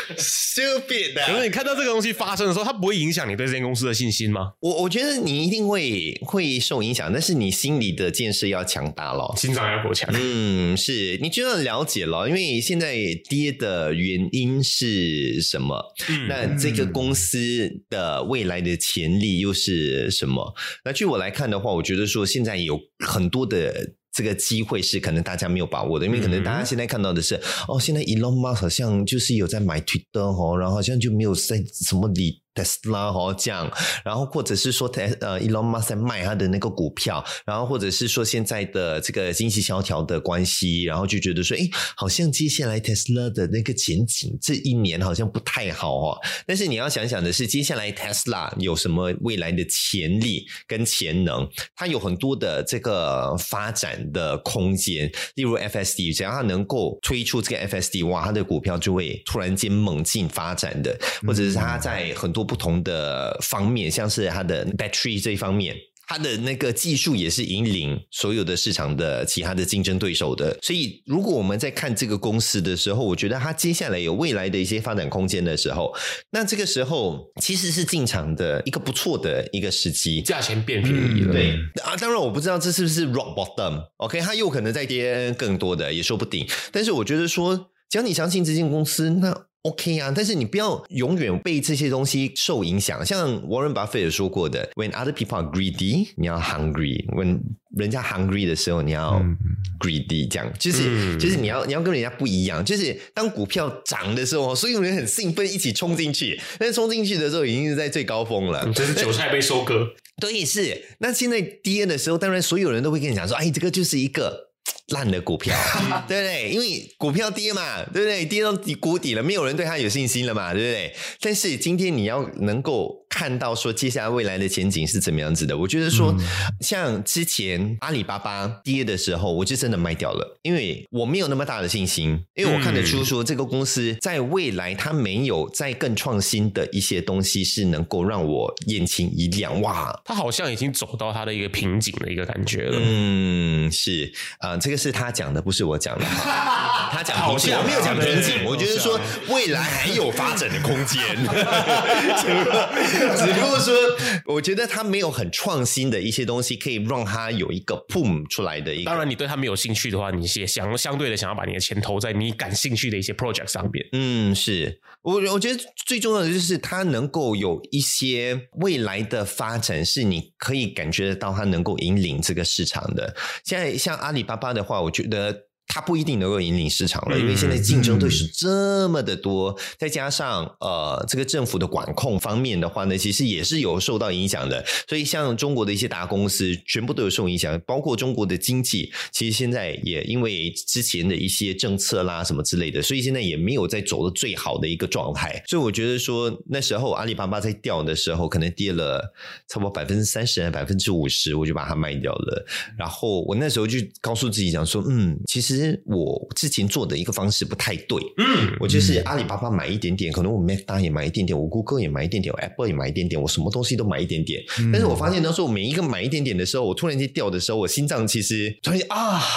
stupid 的。 可是你看到这个东西发生的时候，它不会影响你对这间公司的信心吗？ 我我觉得你一定会会受影响，但是你心里的建设要强大咯， 心脏要够强。 嗯，是你就要了解了，因为现在跌的原因是什么？嗯、那这个公司的未来的潜力又是什么？那据我来看的话，我觉得说现在有很多的这个机会是可能大家没有把握的，因为可能大家现在看到的是、嗯、哦，现在 Elon Musk 好像就是有在买 Twitter 哦，然后好像就没有在什么理Tesla 哦这样，然后或者是说呃 Elon Musk 在卖他的那个股票，然后或者是说现在的这个经济萧条的关系，然后就觉得说诶好像接下来 Tesla 的那个前景这一年好像不太好哦。但是你要想想的是，接下来 Tesla 有什么未来的潜力跟潜能，它有很多的这个发展的空间，例如 F S D， 只要它能够推出这个 F S D， 哇，它的股票就会突然间猛进发展的，或者是它在很多不同的方面，像是它的 battery 这一方面，它的那个技术也是引领所有的市场的其他的竞争对手的。所以如果我们在看这个公司的时候，我觉得它接下来有未来的一些发展空间的时候，那这个时候其实是进场的一个不错的一个时机， 价钱变便宜了、嗯、 对啊，当然我不知道这是不是 rock bottom OK， 它有可能再跌更多的也说不定，但是我觉得说只要你相信这间公司，那OK 啊，但是你不要永远被这些东西受影响。像 Warren Buffett 有说过的 When other people are greedy 你要 hungry， When 人家 hungry 的时候你要 greedy， 这样就是、嗯、就是你要你要跟人家不一样，就是当股票涨的时候所有人很兴奋一起冲进去，但是冲进去的时候已经是在最高峰了， 真是韭菜被收割。 对，是。那现在跌的时候当然所有人都会跟你讲说，哎，这个就是一个烂的股票对不对？因为股票跌嘛，对不对？跌到谷底了，没有人对它有信心了嘛，对不对？但是今天你要能够看到说接下来未来的前景是怎么样子的，我觉得说、嗯、像之前阿里巴巴跌的时候我就真的卖掉了，因为我没有那么大的信心，因为我看得出说这个公司在未来它没有再更创新的一些东西是能够让我眼前一亮，哇， 它好像已经走到它的一个瓶颈的一个感觉了。 嗯，是啊、呃，这个是他讲的，不是我讲的他讲瓶颈，我没有讲瓶颈，我觉得说未来还有发展的空间只不过说我觉得他没有很创新的一些东西可以让他有一个 boom 出来的一个。 当然你对他没有兴趣的话，你也想相对的想要把你的钱投在你感兴趣的一些 project 上面。 嗯，是我我觉得最重要的就是他能够有一些未来的发展是你可以感觉得到他能够引领这个市场的。现在像阿里巴巴的话，我觉得它不一定能够引领市场了，因为现在竞争对手这么的多、嗯、再加上呃这个政府的管控方面的话呢，其实也是有受到影响的，所以像中国的一些大公司全部都有受影响，包括中国的经济其实现在也因为之前的一些政策啦什么之类的，所以现在也没有在走的最好的一个状态。所以我觉得说那时候阿里巴巴在掉的时候可能跌了差不多百分之三十百分之五十，我就把它卖掉了。然后我那时候就告诉自己讲说，嗯，其实我之前做的一个方式不太对，嗯，我就是阿里巴巴买一点点，可能我 Meta 也买一点点，我 Google 也买一点点，我 Apple 也买一点点，我什么东西都买一点点、嗯、但是我发现到时候我每一个买一点点的时候，我突然间掉的时候，我心脏其实突然间啊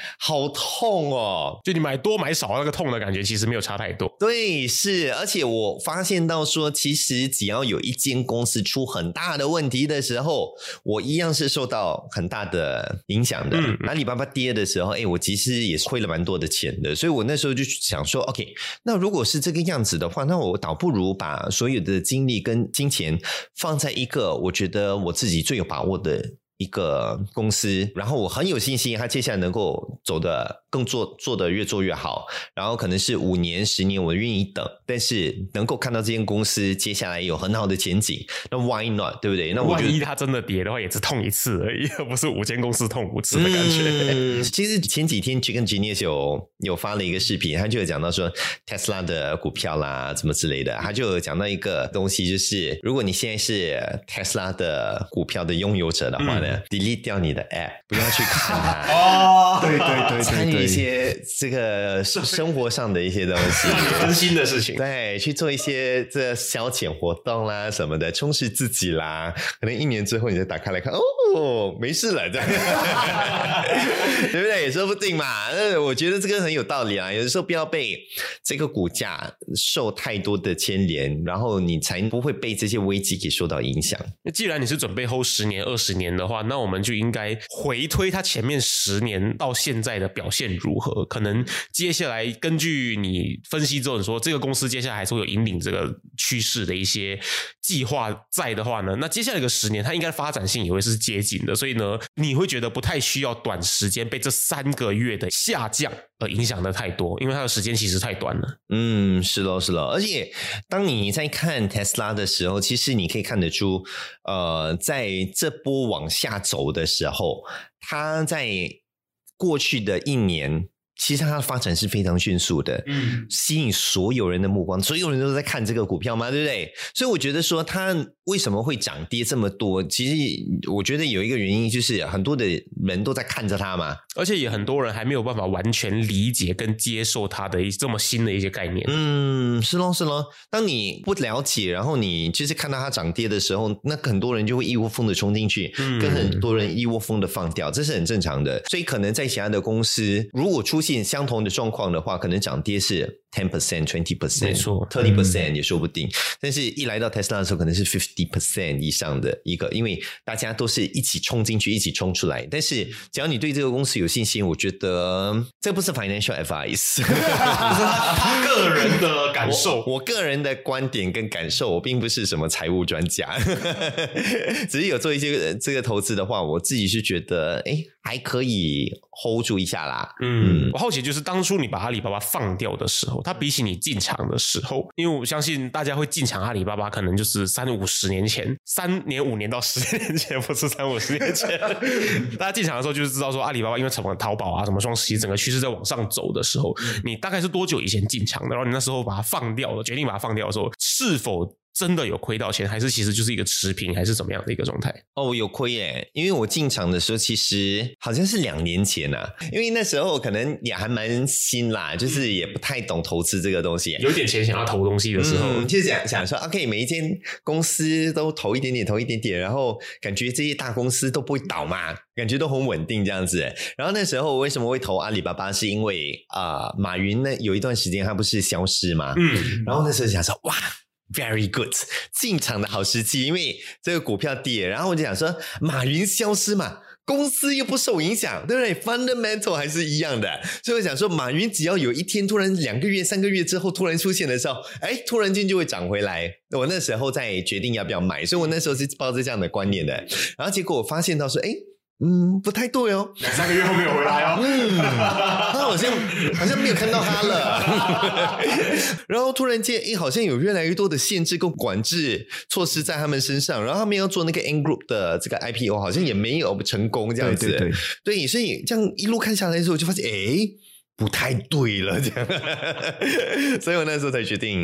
好痛哦！ 就你买多买少那个痛的感觉其实没有差太多。 对，是，而且我发现到说，其实只要有一间公司出很大的问题的时候，我一样是受到很大的影响的。嗯，阿里巴巴跌的时候，哎，我其实也是亏了蛮多的钱的，所以我那时候就想说 ，OK， 那如果是这个样子的话，那我倒不如把所有的精力跟金钱放在一个我觉得我自己最有把握的一个公司，然后我很有信心它接下来能够走的更做做的越做越好，然后可能是五年十年我愿意等，但是能够看到这间公司接下来有很好的前景，那 why not， 对不对？那我觉得万一它真的跌的话也是痛一次而已，而不是五间公司痛五次的感觉。 嗯，其实前几天 Chicken Genius 有有发了一个视频，他就有讲到说 Tesla 的股票啦什么之类的，他就有讲到一个东西，就是如果你现在是 Tesla 的股票的拥有者的话呢、嗯、delete 掉你的 app， 不要去看它哦，对对对， 参与一些这个生活上的一些东西， 分心的事情， 对，去做一些这消遣活动啦什么的，充实自己啦。可能一年之后你再打开来看，哦，没事了，这样，对不对？也说不定嘛。我觉得这个很有道理啊。有的时候不要被这个股价受太多的牵连，然后你才不会被这些危机给受到影响。 那既然你是准备 hold 十年、二十年的话，那我们就应该回推它前面十年到现在的表现如何？可能接下来根据你分析之后，你说这个公司接下来还是会有引领这个趋势的一些计划在的话呢，那接下来一个十年它应该发展性也会是接近的，所以呢，你会觉得不太需要短时间被这三个月的下降而影响的太多，因为它的时间其实太短了。 嗯，是咯是咯，而且当你在看 Tesla 的时候，其实你可以看得出，呃，在这波往下走的时候，它在过去的一年其实它的发展是非常迅速的，嗯，吸引所有人的目光，所有人都在看这个股票嘛，对不对？所以我觉得说它为什么会涨跌这么多，其实我觉得有一个原因就是很多的人都在看着它嘛， 而且也很多人还没有办法完全理解跟接受它的这么新的一些概念。 嗯，是咯是咯，当你不了解，然后你就是看到它涨跌的时候，那很多人就会一窝蜂的冲进去，嗯，跟很多人一窝蜂的放掉，这是很正常的。所以可能在其他的公司如果出现相同的状况的话，可能涨跌是 百分之十、百分之二十， 没错， 百分之三十也说不定，嗯，但是一来到 Tesla 的时候可能是 百分之五十 以上的一个，因为大家都是一起冲进去一起冲出来，但是只要你对这个公司有信心，我觉得这不是 financial advice 这是他个人的感受， 我, 我个人的观点跟感受，我并不是什么财务专家只是有做一些这个投资的话，我自己是觉得诶还可以 hold 住一下啦。 嗯，我好奇就是当初你把阿里巴巴放掉的时候，它比起你进场的时候，因为我相信大家会进场阿里巴巴可能就是三五十年前，三年五年到十年前，不是三五十年前大家进场的时候就是知道说阿里巴巴因为什么淘宝啊什么双十一整个趋势在往上走的时候，你大概是多久以前进场的，然后你那时候把它放掉了，决定把它放掉的时候，是否真的有亏到钱，还是其实就是一个持平，还是怎么样的一个状态？ 哦，有亏耶，因为我进场的时候其实好像是两年前啊，因为那时候可能也还蛮新啦，就是也不太懂投资这个东西， 有点钱想要投东西的时候， 嗯，就想想说 OK 每一间公司都投一点点投一点点，然后感觉这些大公司都不会倒嘛，感觉都很稳定这样子。然后那时候为什么会投阿里巴巴，是因为啊、呃，马云呢有一段时间他不是消失嘛，嗯，然后那时候想说哇Very good， 进场的好时机，因为这个股票跌，然后我就想说，马云消失嘛，公司又不受影响，对不对 ？Fundamental 还是一样的，所以我想说，马云只要有一天突然两个月、三个月之后突然出现的时候，哎，突然间就会涨回来。我那时候在决定要不要买，所以我那时候是抱着这样的观念的。然后结果我发现到说，哎。嗯，不太对哦， 两三个月后没有回来哦， 嗯，他好像好像没有看到他了，然后突然间，诶，好像有越来越多的限制跟管制措施在他们身上，然后他们要做那个 Ant Group 的这个 I P O， 好像也没有成功这样子， 对对对， 对，所以这样一路看下来的时候，我就发现，诶，不太对了，这样，所以我那时候才决定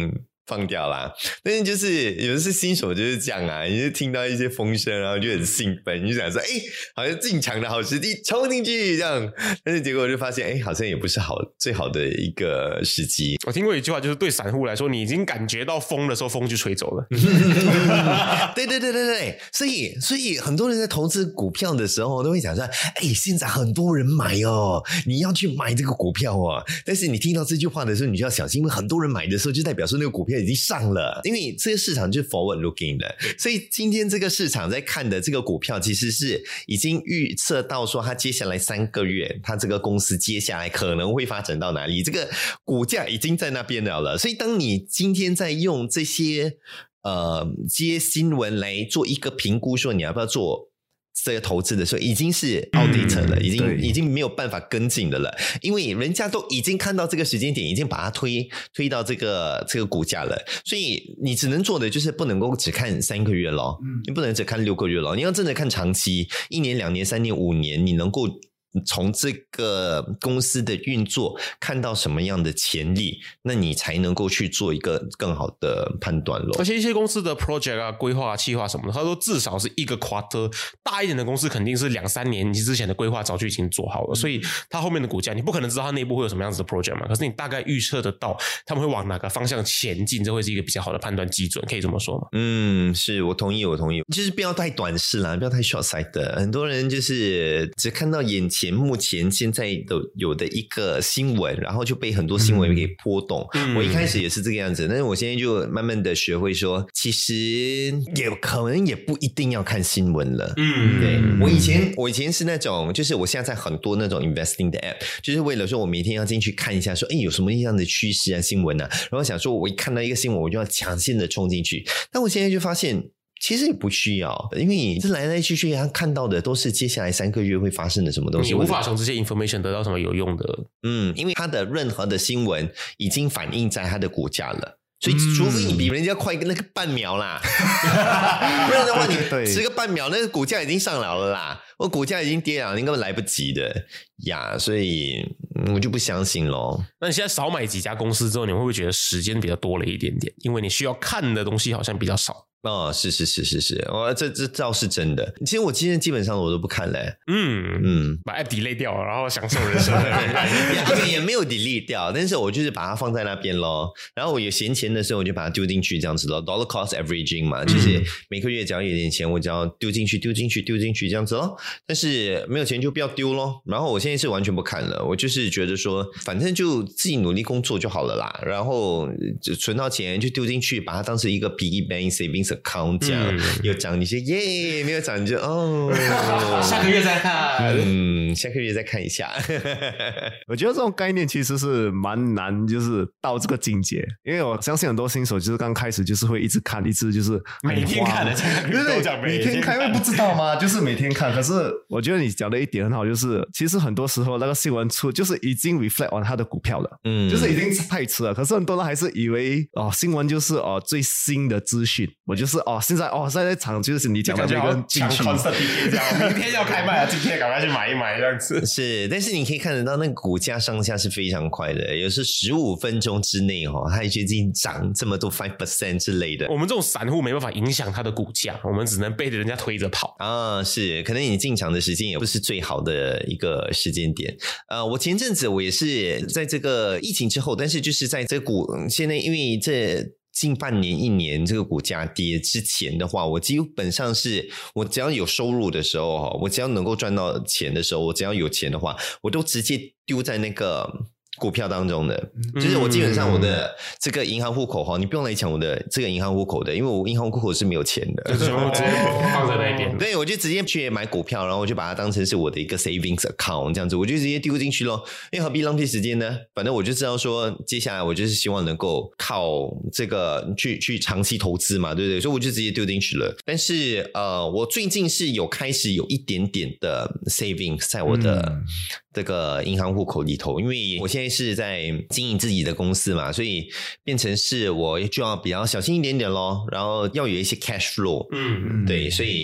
放掉啦。但是就是有的是新手就是这样啊，你就听到一些风声，然后就很兴奋，你就想说，哎，好像进场的好时机，冲进去这样。但是结果就发现，哎，好像也不是好最好的一个时机。 我听过一句话，就是对散户来说，你已经感觉到风的时候，风就吹走了。 对对对对对，所以所以很多人在投资股票的时候都会讲说，哎，现在很多人买哦，你要去买这个股票哦。但是你听到这句话的时候，你就要小心，因为很多人买的时候，就代表说那个股票已经上了，因为这个市场就是 forward looking 的，所以今天这个市场在看的这个股票，其实是已经预测到说，它接下来三个月，它这个公司接下来可能会发展到哪里，这个股价已经在那边了了。所以当你今天在用这些呃接新闻来做一个评估，说你要不要做这个投资的时候，已经是 outdated 了，嗯、已经已经没有办法跟进的了，因为人家都已经看到这个时间点，已经把它推推到这个这个股价了，所以你只能做的就是不能够只看三个月咯，嗯、你不能只看六个月咯，你要真的看长期，一年、两年、三年、五年，你能够从这个公司的运作看到什么样的潜力，那你才能够去做一个更好的判断咯。 而且一些公司的 project 啊、规划、企划什么的，他说至少是一个 quarter， 大一点的公司肯定是两三年之前的规划早就已经做好了，嗯、所以它后面的股价你不可能知道它内部会有什么样子的 project 嘛，可是你大概预测得到他们会往哪个方向前进，这会是一个比较好的判断基准，可以这么说吗？ 嗯，是我同意，我同意，就是不要太短视啦，不要太 short side 的。很多人就是只看到眼前目前现在的有的一个新闻，然后就被很多新闻给波动。嗯、我一开始也是这个样子，但是我现在就慢慢的学会说，其实也可能也不一定要看新闻了。嗯，对，我以前我以前是那种，就是我现在在很多那种 investing 的 app， 就是为了说我每天要进去看一下说，哎，有什么样的趋势啊、新闻啊，然后想说我一看到一个新闻，我就要抢先的冲进去。但我现在就发现，其实也不需要，因为你这来来去去他看到的都是接下来三个月会发生的什么东西， 你无法从这些 information 得到什么有用的。嗯， 因为他的任何的新闻已经反映在他的股价了，所以除非你比人家快那个半秒啦，不然的话你迟个半秒，那个股价已经上来了啦，我股价已经跌了，你根本来不及的呀，所以我就不相信咯。 那你现在少买几家公司之后，你会不会觉得时间比较多了一点点？因为你需要看的东西好像比较少。 哦，是是是是是，我这这倒是真的。其实我今天基本上我都不看嘞， 嗯嗯，把 app delete 掉，然后享受人生。 也也没有 delete 掉，但是我就是把它放在那边咯。然后我有闲钱的时候，我就把它丢进去，这样子咯。Dollar cost averaging 嘛，就是每个月只要有点钱，我只要丢进去，丢进去，丢进去这样子咯。但是没有钱就不要丢咯。然后我现在是完全不看了，我就是觉得说，反正就自己努力工作就好了啦。然后就存到钱就丢进去，把它当成一个 piggy bank savings account 这样，嗯、有涨你就耶，没有涨你就哦， 下个月再看， 嗯，下个月再看一下。 我觉得这种概念其实是蛮难，就是到这个境界，因为我相信很多新手就是刚开始就是会一直看，一直就是每天看的， 对对对，每天看，因为不知道吗？就是每天看。可是我觉得你讲的一点很好，就是其实很多时候那个新闻出，就是已经 reflect on 他的股票了，嗯，就是已经太迟了。可是很多人还是以为哦，新闻就是哦最新的资讯，我就是哦。现在哦，现在场就是你讲的那个进去， 明天要开卖了，今天赶快去买一买这样子。 是，但是你可以看得到那个股价上下是非常快的，有时十五分钟之内哦，它已经涨这么多 百分之五 之类的。 我们这种散户没办法影响它的股价，我们只能被着人家推着跑啊。是，可能你进场的时间也不是最好的一个时间点。呃，我前阵子我也是在这个疫情之后，但是就是在这股现在因为这。近半年一年这个股价跌之前的话，我基本上是我只要有收入的时候，我只要能够赚到钱的时候，我只要有钱的话，我都直接丢在那个股票当中的，就是我基本上我的这个银行户口哈，你不用来抢我的这个银行户口的，因为我银行户口是没有钱的， 就是我直接放在那边。 对，我就直接去买股票，然后我就把它当成是我的一个 savings account 这样子，我就直接丢进去咯。因为何必浪费时间呢？反正我就知道说，接下来我就是希望能够靠这个去去长期投资嘛，对不对？所以我就直接丢进去了。但是呃，我最近是有开始有一点点的 savings 在我的。嗯这个银行户口里头，因为我现在是在经营自己的公司嘛，所以变成是我就要比较小心一点点咯，然后要有一些 cash flow， 嗯，对，所以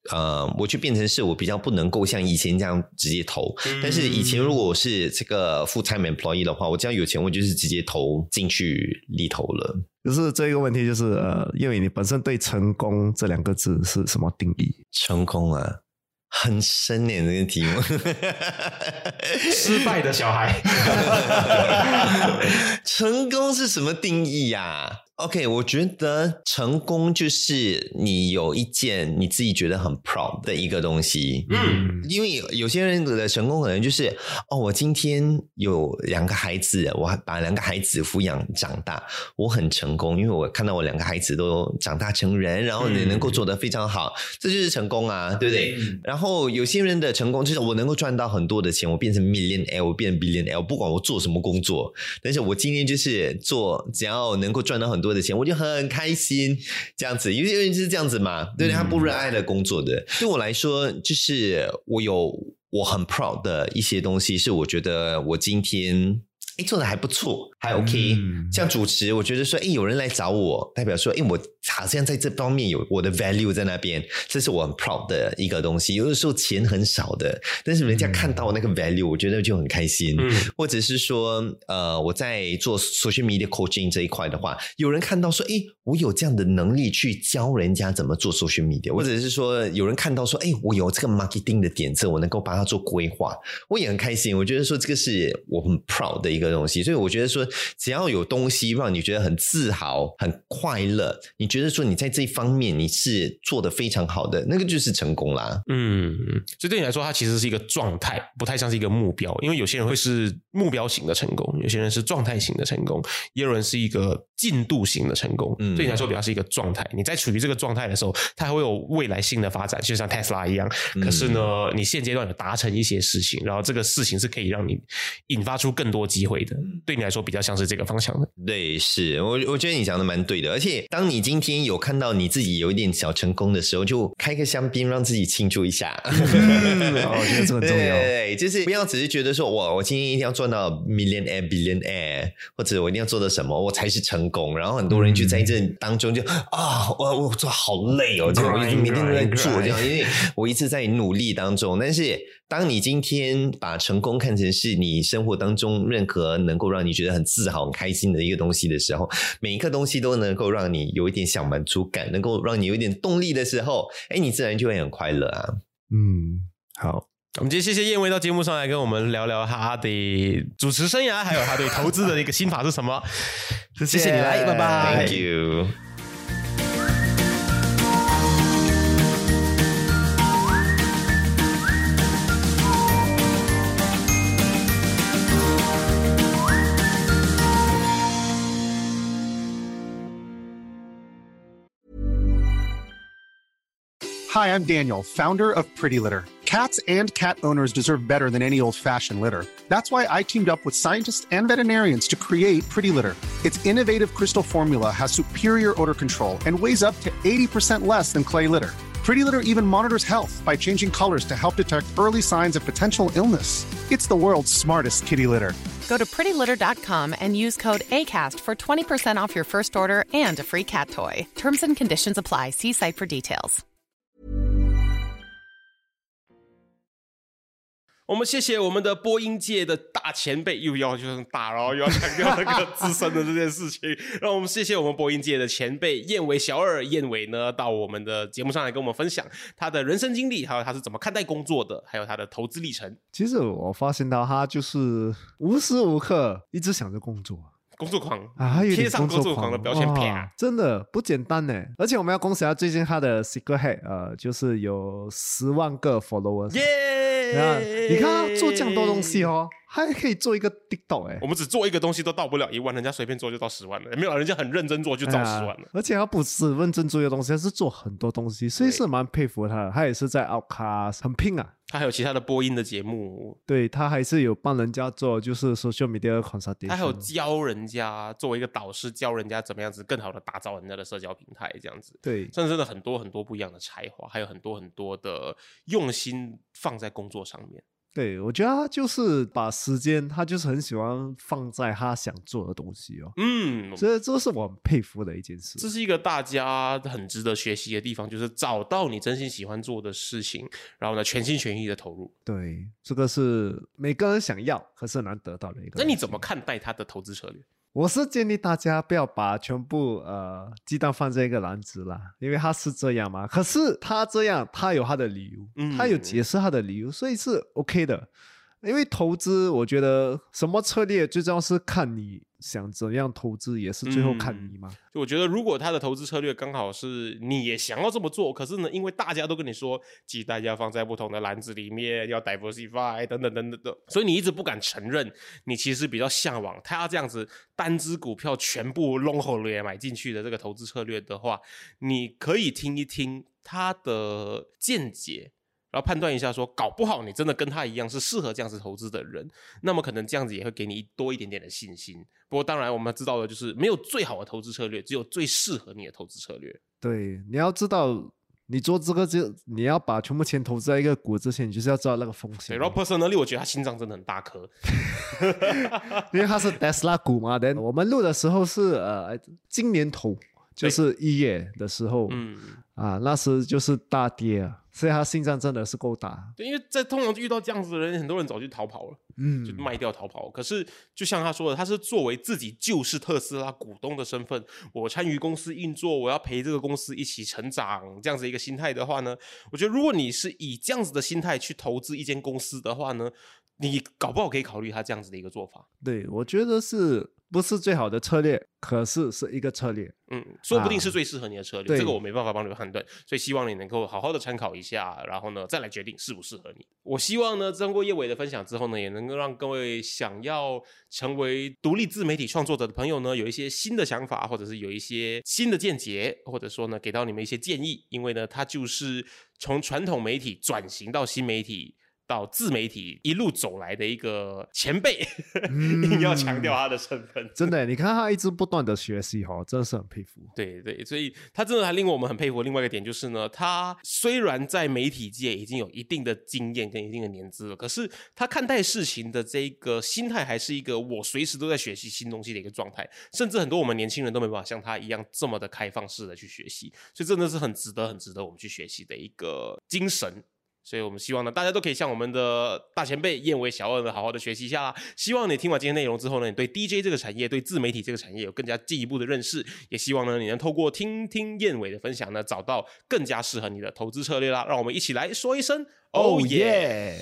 呃，我就变成是我比较不能够像以前这样直接投。嗯、但是以前如果我是这个 full time employee 的话，我只要有钱，我就是直接投进去里头了。 就是这个问题，就是呃，因为你本身对成功这两个字是什么定义？ 成功啊，很深耶，这个题目。 失败的小孩。 成功是什么定义呀、啊？OK， 我觉得成功就是你有一件你自己觉得很 proud 的一个东西。嗯，因为有些人的成功可能就是哦，我今天有两个孩子，我把两个孩子抚养长大，我很成功，因为我看到我两个孩子都长大成人，然后你能够做得非常好，嗯、这就是成功啊，对不对？嗯、然后有些人的成功就是我能够赚到很多的钱，我变成 millionaire， 我变成 billionaire， 不管我做什么工作，但是我今天就是做，只要能够赚到很多的钱，我就很开心，这样子，因为人是这样子嘛，对，他不热爱的工作的。对我来说，就是我有我很 proud 的一些东西，是我觉得我今天哎做的还不错，还 OK、嗯。像主持，我觉得说，哎，有人来找我，代表说，哎，我好像在这方面有我的 value 在那边，这是我很 proud 的一个东西。有的时候钱很少的，但是人家看到那个 value，、嗯、我觉得就很开心。嗯、或者是说，呃，我在做 social media coaching 这一块的话，有人看到说，哎，我有这样的能力去教人家怎么做 social media， 或者是说，有人看到说，哎，我有这个 marketing 的点子，我能够帮他做规划，我也很开心。我觉得说，这个是我很 proud 的一个东西。所以我觉得说，只要有东西让你觉得很自豪、很快乐，你觉得说你在这一方面你是做得非常好的，那个就是成功啦。 嗯，所以对你来说，它其实是一个状态，不太像是一个目标。因为有些人会是目标型的成功，有些人是状态型的成功，也有人是一个进度型的成功。嗯，对你来说比较是一个状态。你在处于这个状态的时候，它还会有未来性的发展，就像 Tesla 一样。可是呢，嗯、你现阶段有达成一些事情，然后这个事情是可以让你引发出更多机会的。对你来说比较像是这个方向的。 对，是我我觉得你讲的蛮对的。而且当你今天有看到你自己有一点小成功的时候，就开个香槟让自己庆祝一下。 嗯、我觉得这很重要。 对，就是不要只是觉得说哇，我今天一定要赚到 millionaire billionaire， 或者我一定要做到什么我才是成功。然后很多人就在这当中就啊，我我做好累哦，这样我一直每天都在做这样，因为我一直在努力当中。但是当你今天把成功看成是你生活当中任何能够让你觉得很自豪很开心的一个东西的时候，每一个东西都能够让你有一点小满足感，能够让你有一点动力的时候，哎，你自然就会很快乐啊。 嗯，好， 我们今天谢谢燕威到节目上来跟我们聊聊他的主持生涯，还有他对投资的一个心法是什么。谢谢你来，拜拜。 Thank you。 Hi, I'm Daniel, founder of Pretty Litter. Cats and cat owners deserve better than any old-fashioned litter. That's why I teamed up with scientists and veterinarians to create Pretty Litter. Its innovative crystal formula has superior odor control and weighs up to eighty percent less than clay litter. Pretty Litter even monitors health by changing colors to help detect early signs of potential illness. It's the world's smartest kitty litter. Go to pretty litter dot com and use code ACAST for twenty percent off your first order and a free cat toy. Terms and conditions apply. See site for details. 我们谢谢我们的播音界的大前辈，又要就是大，然后又要强调那个资深的这件事情。让我们谢谢我们播音界的前辈燕伟小二。燕伟呢到我们的节目上来跟我们分享他的人生经历，还有他是怎么看待工作的，还有他的投资历程。 其实我发现到他就是无时无刻一直想着工作。 工作狂啊， 贴上工作狂的标签，啪， 真的不简单呢。而且我们要恭喜他最近他的 Secret Head， 呃，就是有十万个 followers， 耶、yeah! ！你看他做这样多东西哦，还可以做一个 TikTok 哎。 我们只做一个东西都到不了一万，人家随便做就到十万了，没有人家很认真做就到十万了、哎。 而且他不是认真做一个东西，他是做很多东西，所以是蛮佩服他的。他也是在 Outcast 很拼啊。 他还有其他的播音的节目， 对，他还是有帮人家做就是 social media consultation， 他还有教人家作为一个导师教人家怎么样子更好的打造人家的社交平台这样子。 对， 真的很多很多不一样的才华，还有很多很多的用心放在工作上面。 对，我觉得他就是把时间，他就是很喜欢放在他想做的东西哦。 嗯， 这这是我很佩服的一件事。 这是一个大家很值得学习的地方，就是找到你真心喜欢做的事情，然后呢，全心全意的投入。 对，这个是每个人想要，可是很难得到的一个。 那你怎么看待他的投资策略？ 我是建议大家不要把全部呃鸡蛋放在一个篮子啦，因为他是这样嘛。可是他这样，他有他的理由，嗯、他有解释他的理由，所以是 OK 的。因为投资，我觉得什么策略最重要是看你想怎样投资，也是最后看你嘛。 嗯、我觉得如果他的投资策略刚好是你也想要这么做，可是呢，因为大家都跟你说鸡蛋要放在不同的篮子里面，要 diversify 等等等等等，所以你一直不敢承认，你其实比较向往他这样子单只股票全部 long hold 买进去的这个投资策略的话，你可以听一听他的见解。然后判断一下说，搞不好你真的跟他一样是适合这样子投资的人，那么可能这样子也会给你多一点点的信心。不过当然我们知道的就是没有最好的投资策略，只有最适合你的投资策略。 对，你要知道你做这个就你要把全部钱投资在一个股之前，你就是要知道那个风险。 对，然后 personally 我觉得他心脏真的很大颗因为他是 Tesla 股嘛。但我们录的时候是呃今年头，就是一月的时候，嗯啊，那时就是大跌啊，所以他心脏真的是够大。 对，因为在通常遇到这样子的人，很多人早就逃跑了，嗯，就卖掉逃跑。可是就像他说的，他是作为自己就是特斯拉股东的身份，我参与公司运作，我要陪这个公司一起成长，这样子一个心态的话呢，我觉得如果你是以这样子的心态去投资一间公司的话呢，你搞不好可以考虑他这样子的一个做法。 对，我觉得是不是最好的策略，可是是一个策略。 嗯，说不定是最适合你的策略，啊、这个我没办法帮你判断，所以希望你能够好好的参考一下，然后呢再来决定适不适合你。我希望呢经过叶伟的分享之后呢，也能够让各位想要成为独立自媒体创作者的朋友呢，有一些新的想法，或者是有一些新的见解，或者说呢给到你们一些建议，因为呢他就是从传统媒体转型到新媒体到自媒体一路走来的一个前辈，嗯、硬要强调他的身份。 真的，你看他一直不断的学习哈，真的是很佩服。 对对，所以他真的还令我们很佩服的另外一个点就是呢，他虽然在媒体界已经有一定的经验跟一定的年资了，可是他看待事情的这个心态还是一个我随时都在学习新东西的一个状态，甚至很多我们年轻人都没办法像他一样这么的开放式的去学习，所以真的是很值得很值得我们去学习的一个精神。所以我们希望呢，大家都可以像我们的大前辈燕尾小二呢，好好的学习一下啦。希望你听完今天内容之后呢，你对 D J 这个产业、对自媒体这个产业有更加进一步的认识。也希望呢，你能透过听听燕尾的分享呢，找到更加适合你的投资策略啦。让我们一起来说一声 Oh yeah！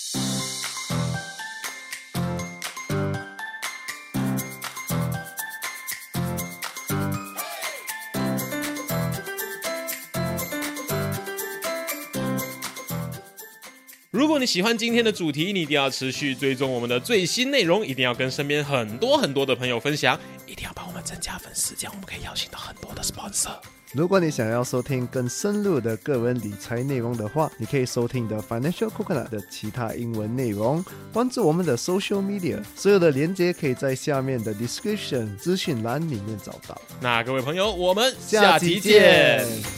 如果你喜欢今天的主题，你一定要持续追踪我们的最新内容，一定要跟身边很多很多的朋友分享，一定要帮我们增加粉丝，这样我们可以邀请到很多的 sponsor。 如果你想要收听更深入的个人理财内容的话，你可以收听的 Financial Coconut 的其他英文内容，关注我们的 social media， 所有的连结可以在下面的 description 资讯栏里面找到。 那各位朋友，我们下期见。